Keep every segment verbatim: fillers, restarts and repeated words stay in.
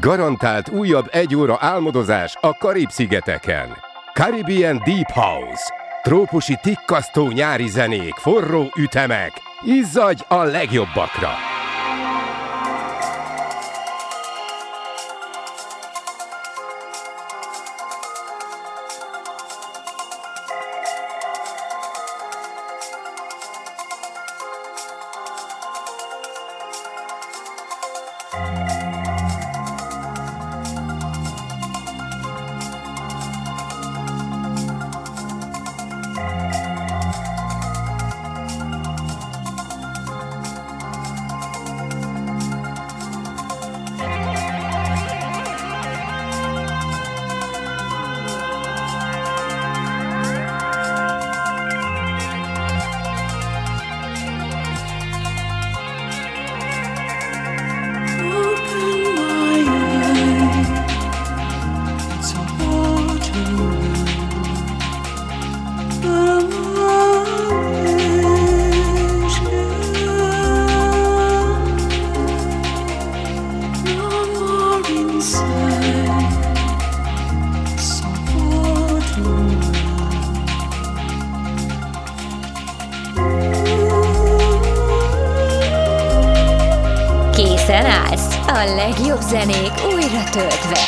Garantált újabb egy óra álmodozás a Karib-szigeteken. Caribbean Deep House. Trópusi tikkasztó nyári zenék, forró ütemek. Izzadj a legjobbakra! Készen állsz? A legjobb zenék újra töltve.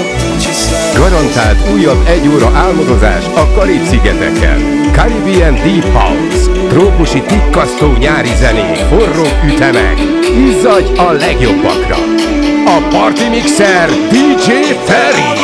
Garantált újabb egy óra álmodozás a Karib-szigeteken. Caribbean Deep House. Trópusi tikkasztó nyári zenék, forró ütemek. Izzadj a legjobbakra. A Party Mixer dé dzsé Ferry.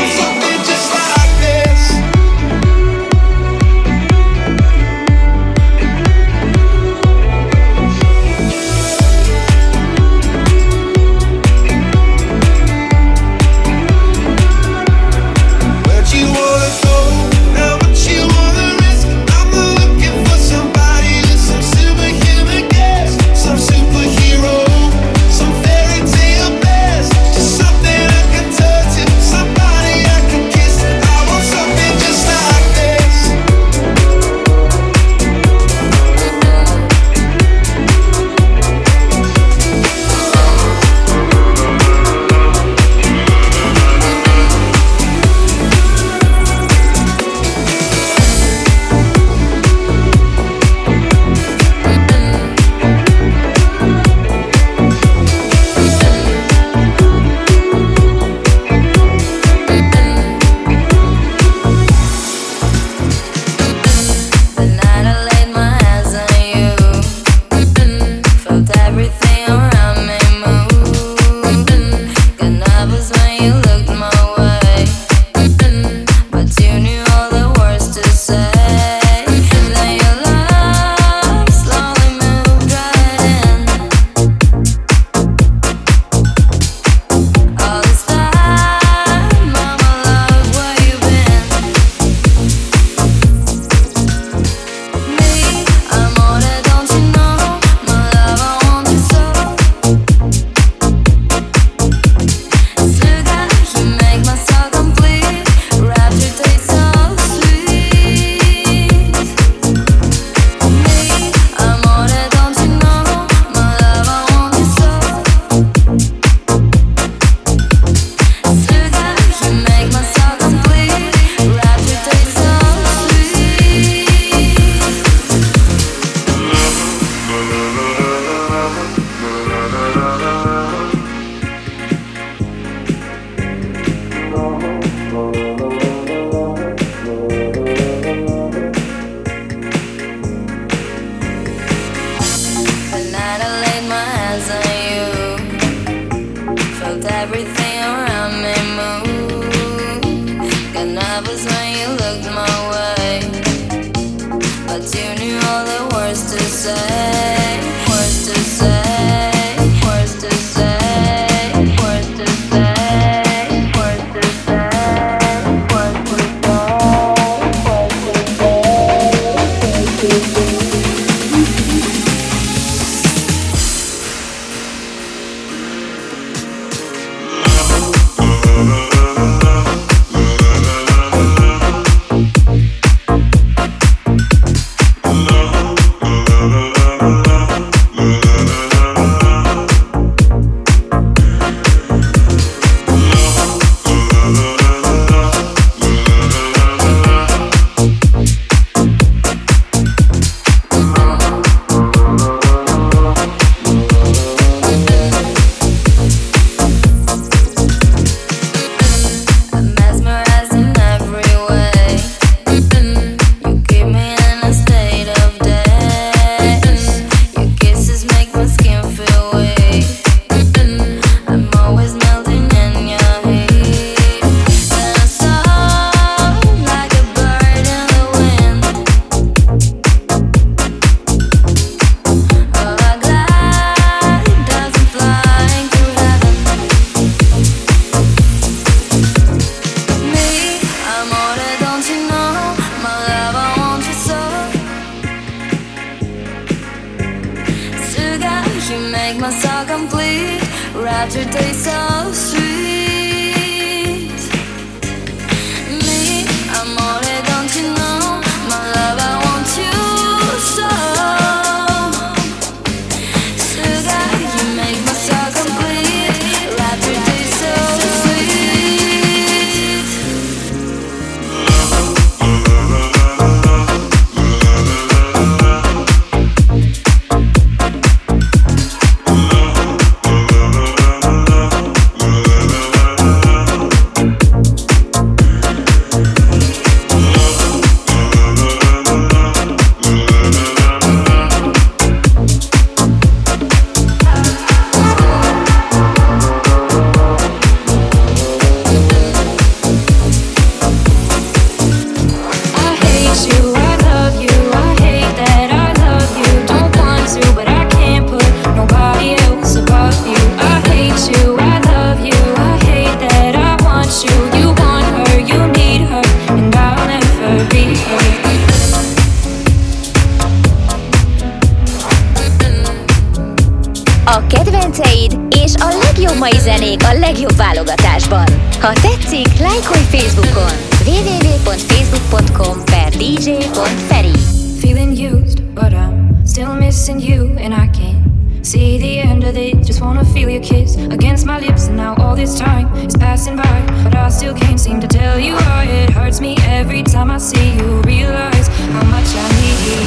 A kedvenceid és a legjobb mai zenék a legjobb válogatásban. Ha tetszik, lájkolj Facebookon double-u double-u double-u pont facebook pont com per dé jé pont feri. Feeling used, but I'm still missing you, and I can't see the end of it. Just wanna feel your kiss against my lips, and now all this time is passing by, but I still can't seem to tell you why. It hurts me every time I see you, realize how much I need you.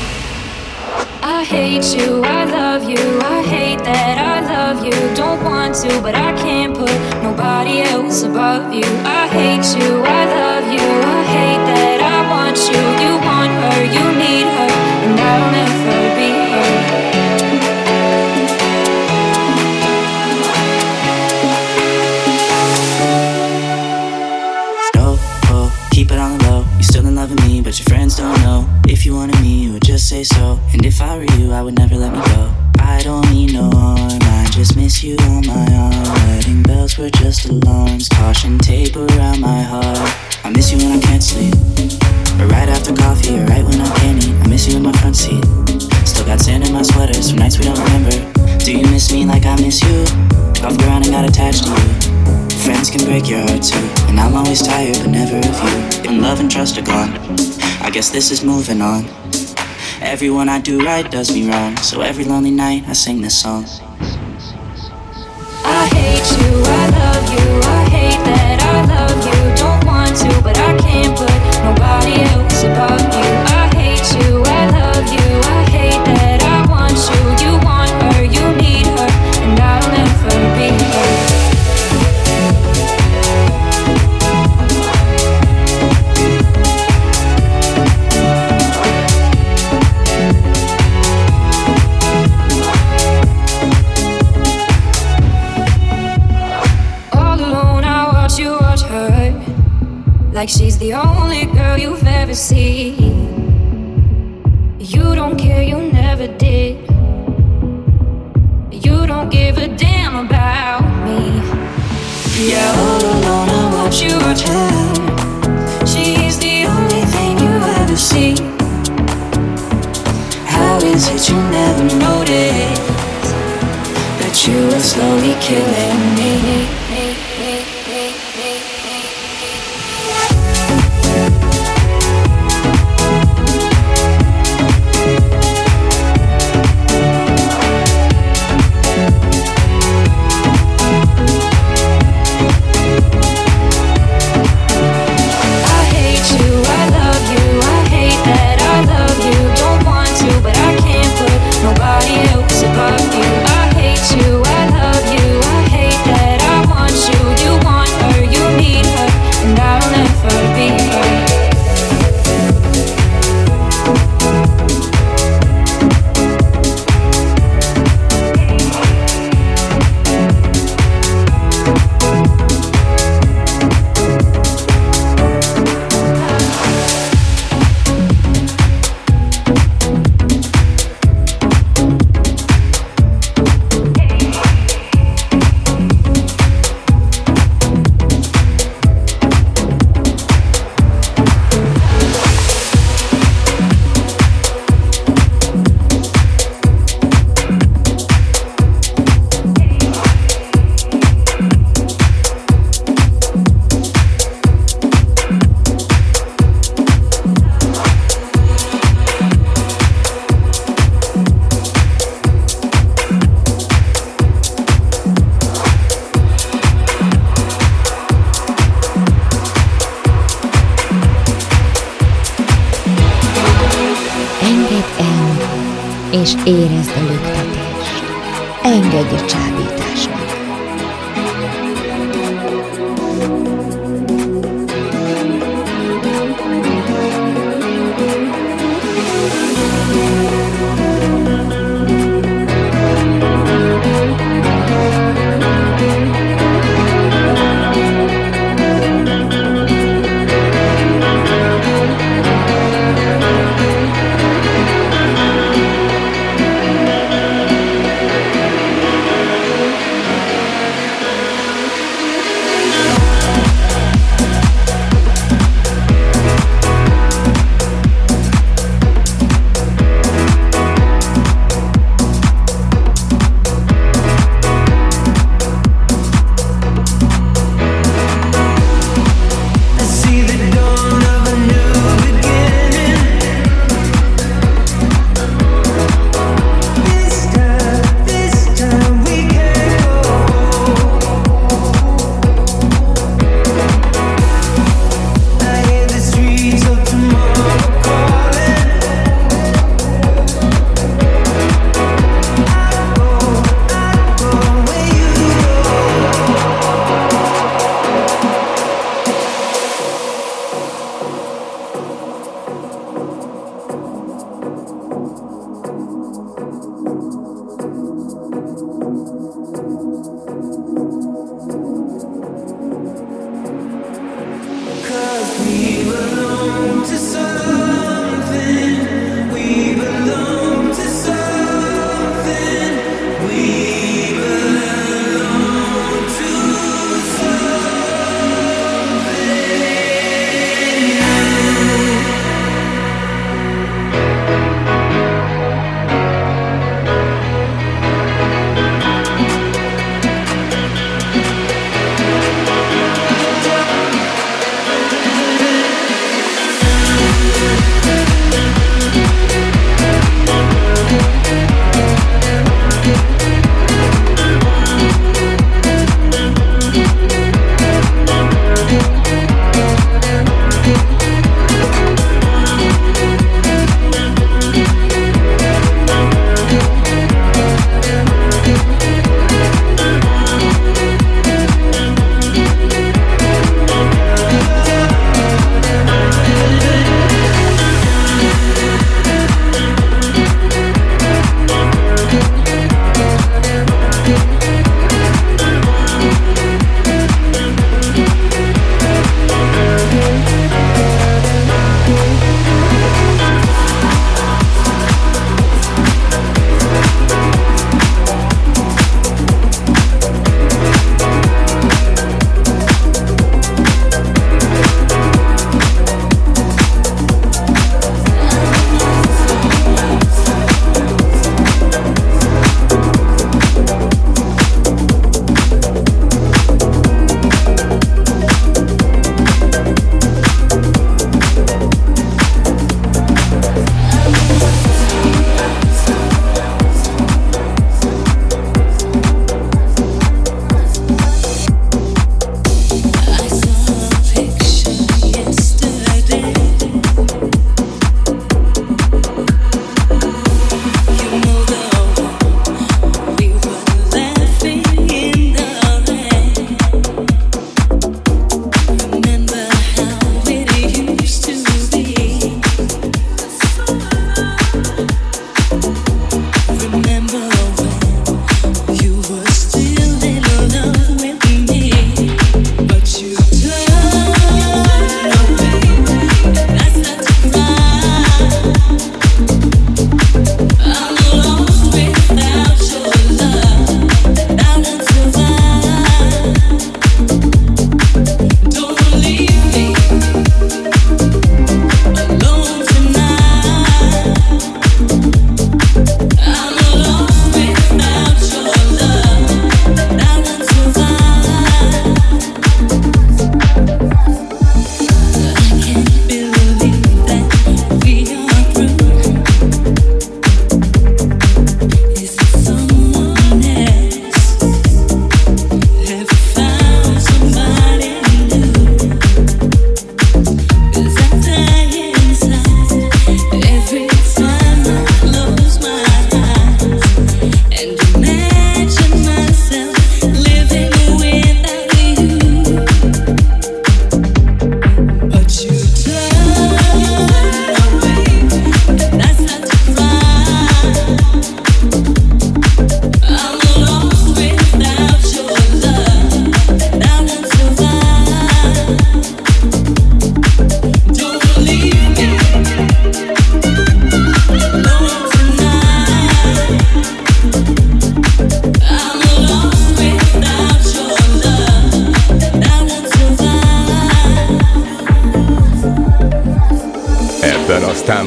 I hate you, I love you, I hate that I love you. Don't want to, but I can't put nobody else above you. I hate you, I love you, I hate that I want you. You want her, you need her, and I'll never be her. Keep it on the low, you still in love with me, but your friends don't know. If you wanted me, you would just say so. And if I were you, I would never let me go. I don't mean no harm, I just miss you on my arm. Wedding bells were just alarms, caution tape around my heart. I miss you when I can't sleep, or right after coffee, or right when I can't eat. I miss you in my front seat, still got sand in my sweaters from nights we don't remember. Do you miss me like I miss you? I've grown and got attached to you. Friends can break your heart too, and I'm always tired but never of you. When love and trust are gone, I guess this is moving on. Everyone I do right does me wrong, so every lonely night I sing this song. I hate you, I love you, I hate that I love you. Don't want to, but I can't put nobody else above you. I hate you, I love you, I hate that I want you. You want her, you need her, and I'll never be her. Like she's the only girl you've ever seen. You don't care, you never did. You don't give a damn about me. Yeah, all alone I watch you watch her. She's the only thing you ever see. How is it you never notice that you are slowly killing me? Nobody else above you. I hate you, I love you, I hate that I want you. You want her, you need her, and I'll never be her. És érezd a löktetést. Engedj a csábításnak.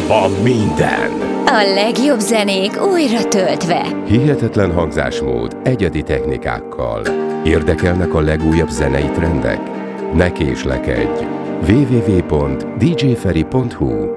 van minden. A legjobb zenék újra töltve. Hihetetlen hangzásmód, egyedi technikákkal. Érdekelnek a legújabb zenei trendek? Ne késlekedj! double-u double-u double-u pont d j ferry pont h u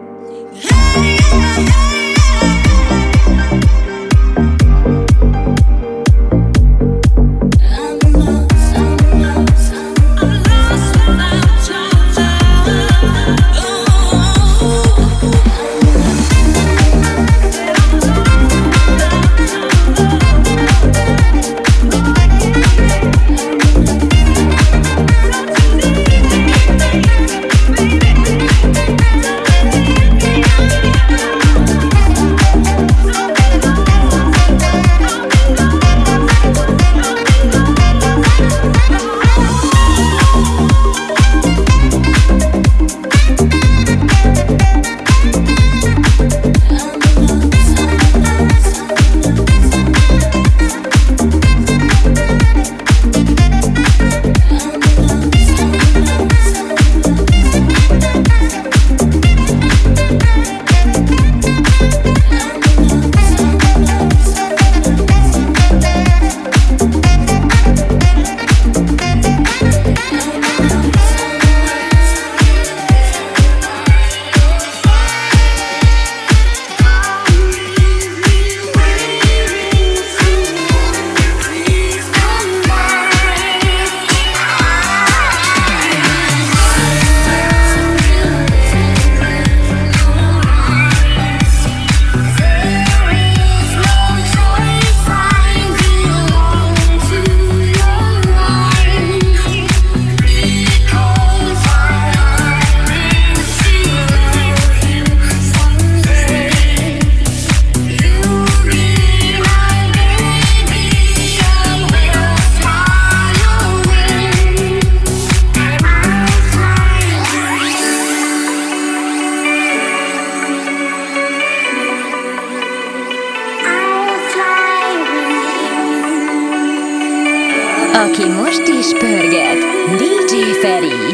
Aki most is pörget, dé dzsé Ferry.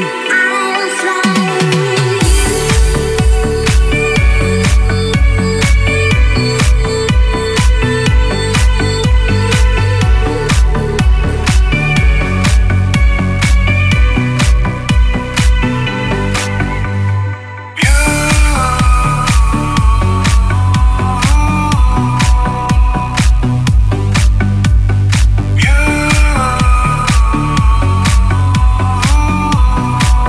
You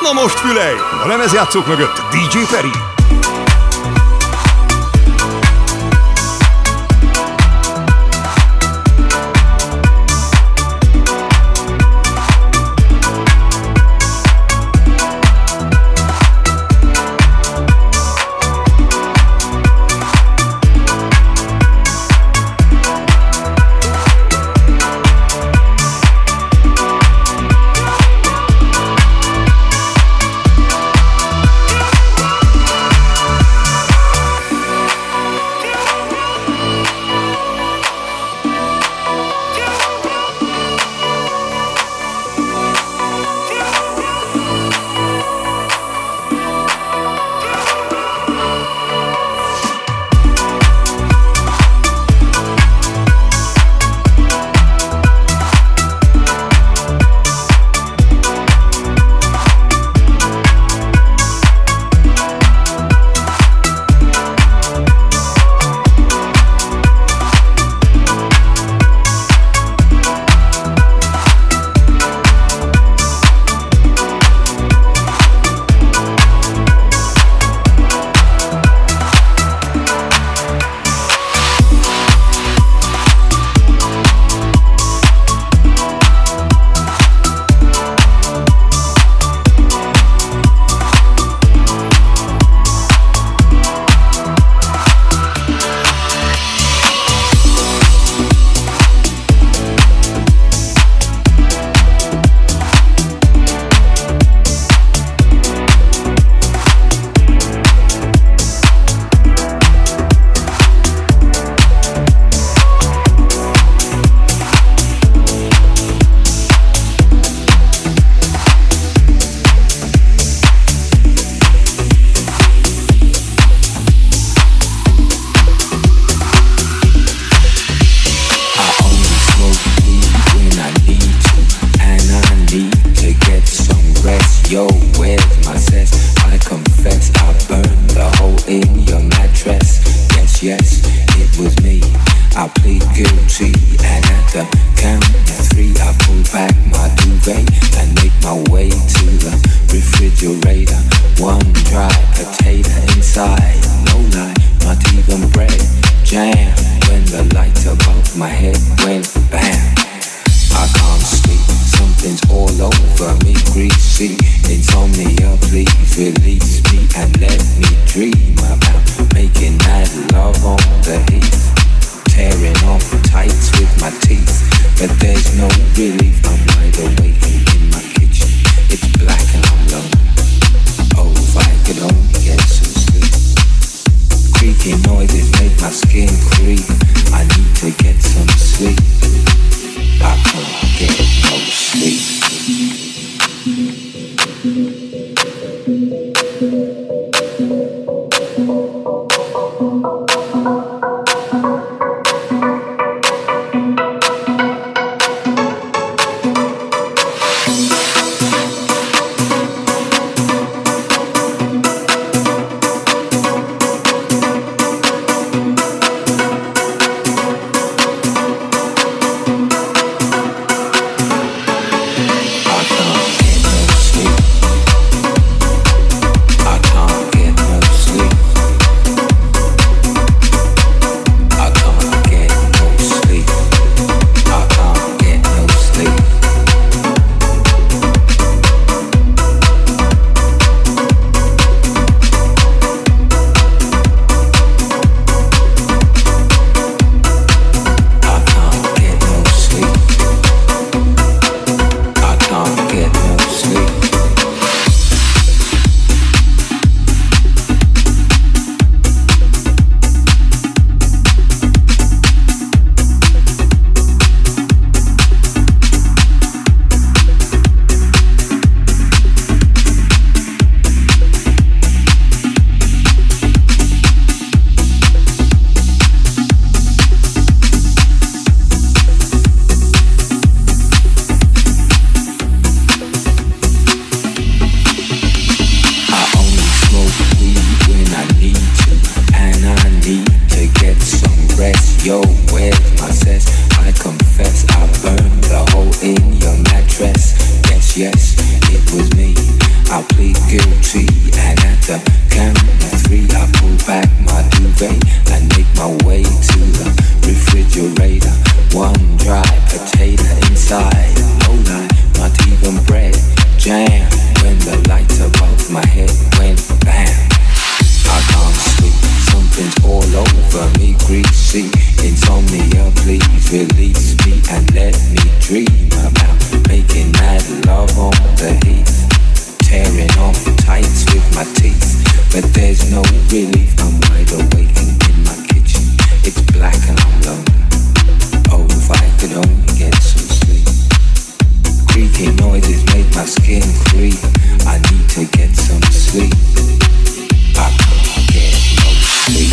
Na most fülej! A lemezjátszók mögött dé dzsé Feri. guilty. And at the count of three, I pull back my duvet and make my way to the refrigerator. One dry potato inside, no lie, not even bread. Jam when the lights above my head went bam. I can't sleep, something's all over me, greasy. Insomnia, please release me and let me dream about making mad love on the heat. Tearing off tights with my teeth, but there's no relief. I'm wide awake in my kitchen. It's black and I'm lonely. Oh, if I could only get some sleep. Creaky noises make my skin creep. I need to get some sleep. I can't get no sleep.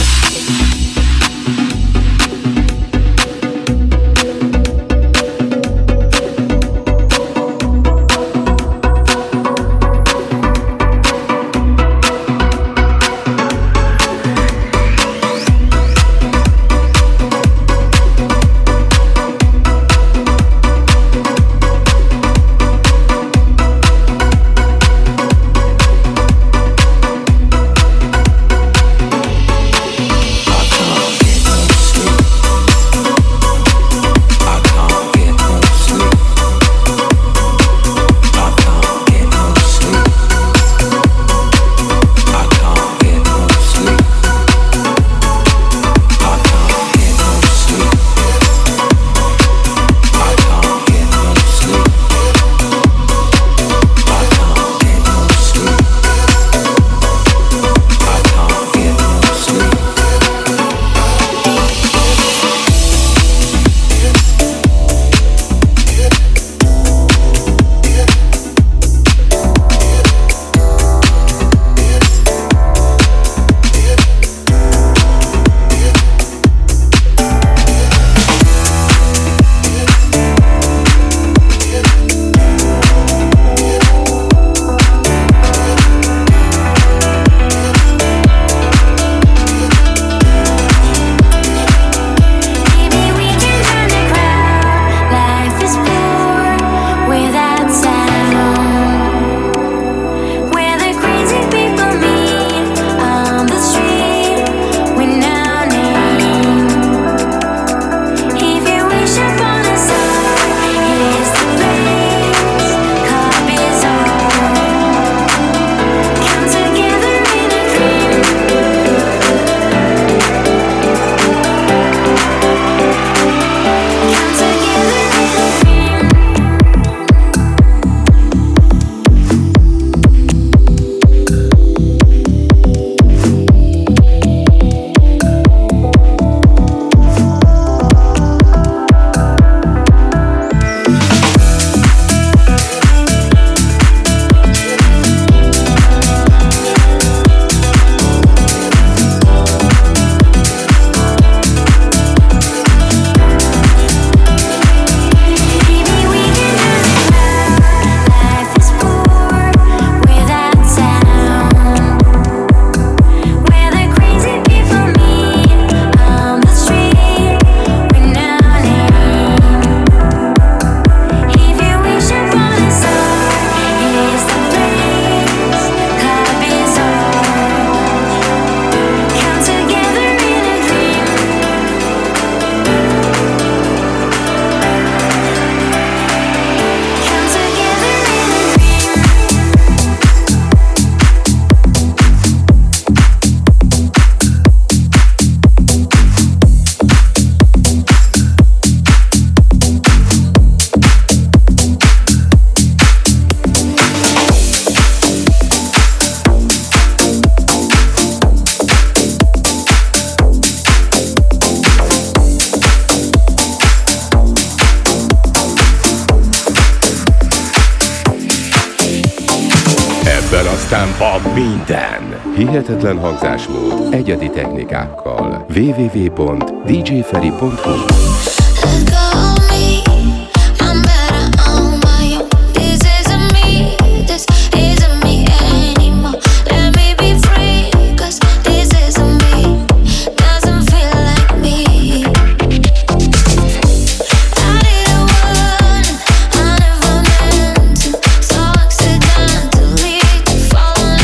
Aztán van minden. Hihetetlen hangzásmód, egyedi technikákkal. double-u double-u double-u pont d j ferry pont h u Fall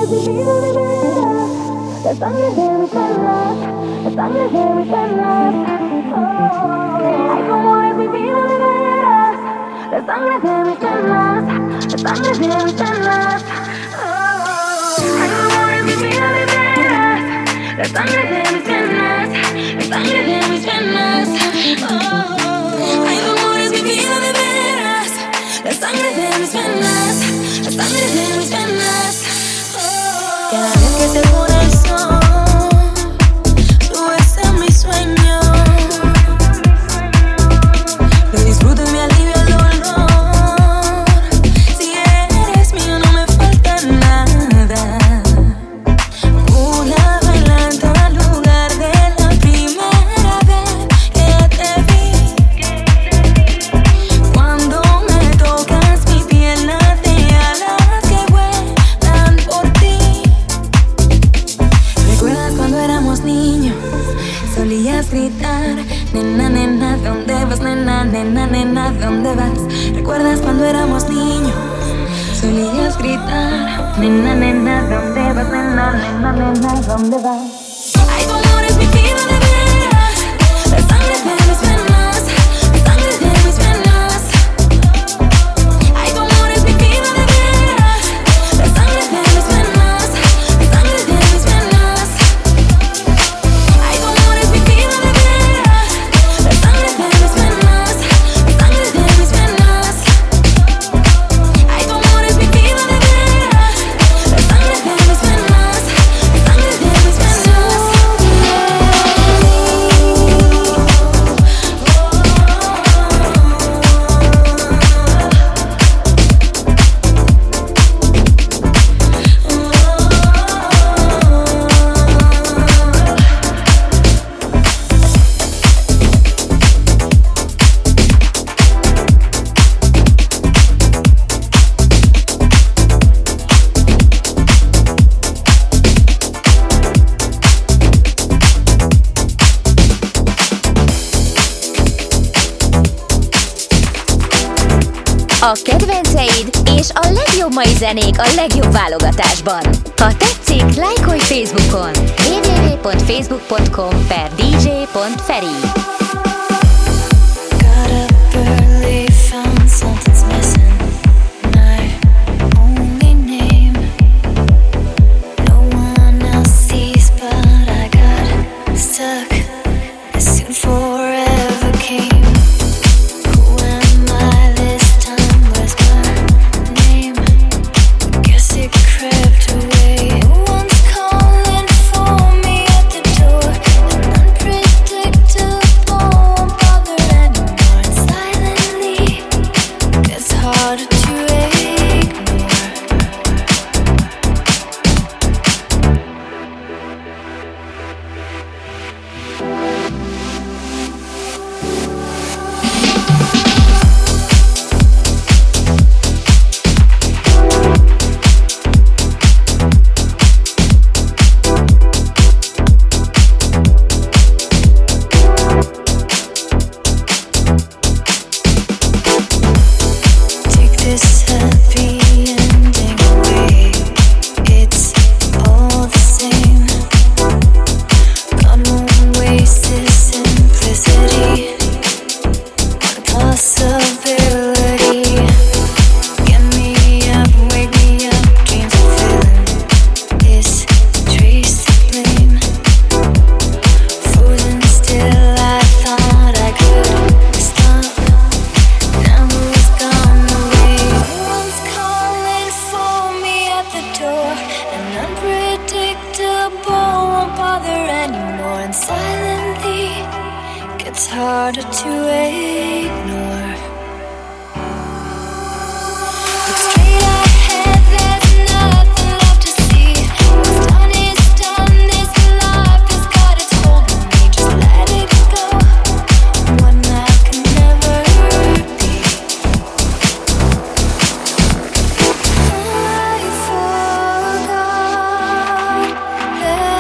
A kedvenceid és a legjobb mai zenék a legjobb válogatásban. Ha tetszik, lájkolj Facebookon double-u double-u double-u pont facebook pont com per dé jé pont feri.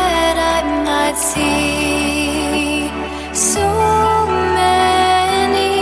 See so many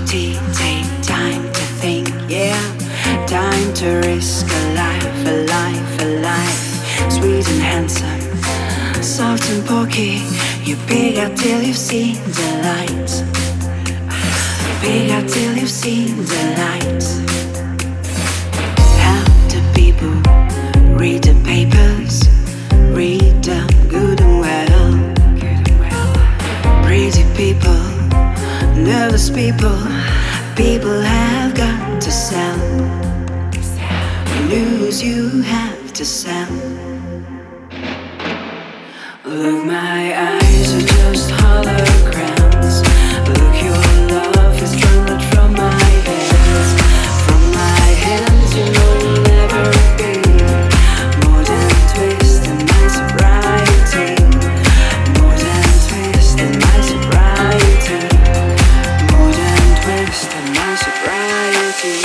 tea, take time to think, yeah. Time to risk a life, a life, a life. Sweet and handsome, soft and porky. You big out till you've seen the light. Big out till you've seen the light. How do people read the papers? Read them good and well. Pretty people, nervous people. People have got to sell. News you have to sell. Look, my eyes are just holograms. Look, your love is drawn from my hands. From my hands you know will never be more than twist in my sobriety. More than twist in my sobriety. More than twist in my sobriety.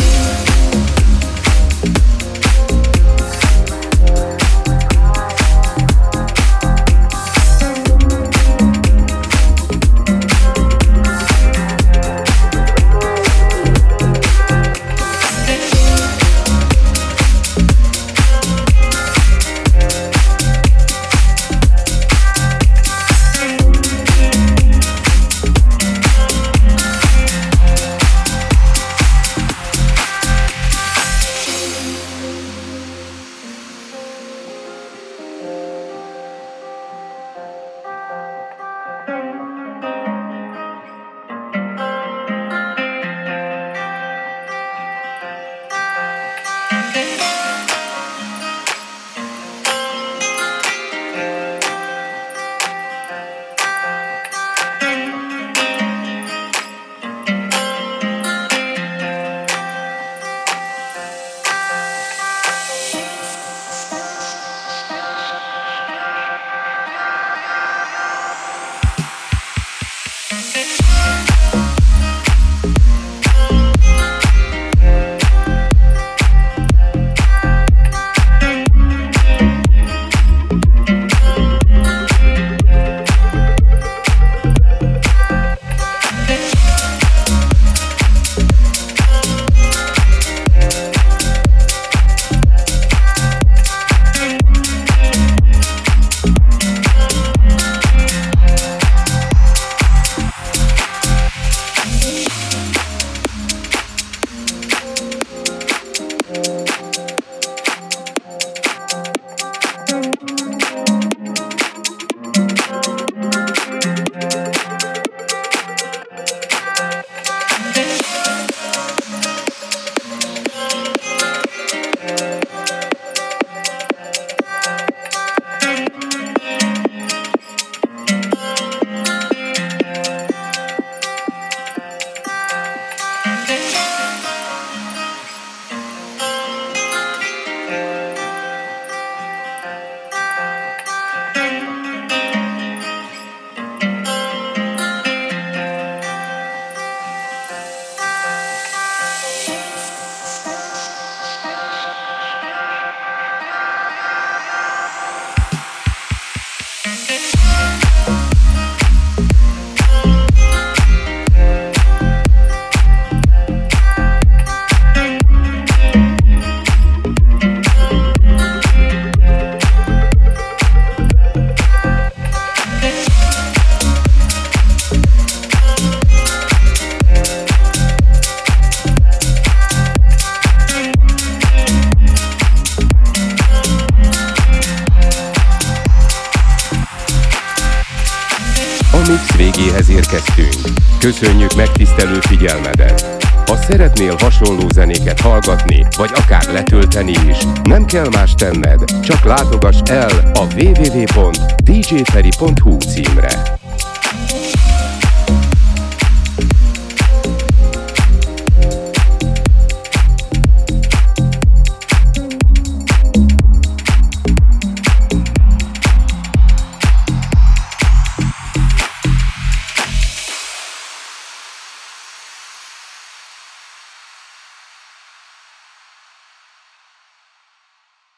mix végéhez érkeztünk. Köszönjük megtisztelő figyelmedet! Ha szeretnél hasonló zenéket hallgatni, vagy akár letölteni is, nem kell más tenned, csak látogass el a double-u double-u double-u pont d j ferry pont h u címre.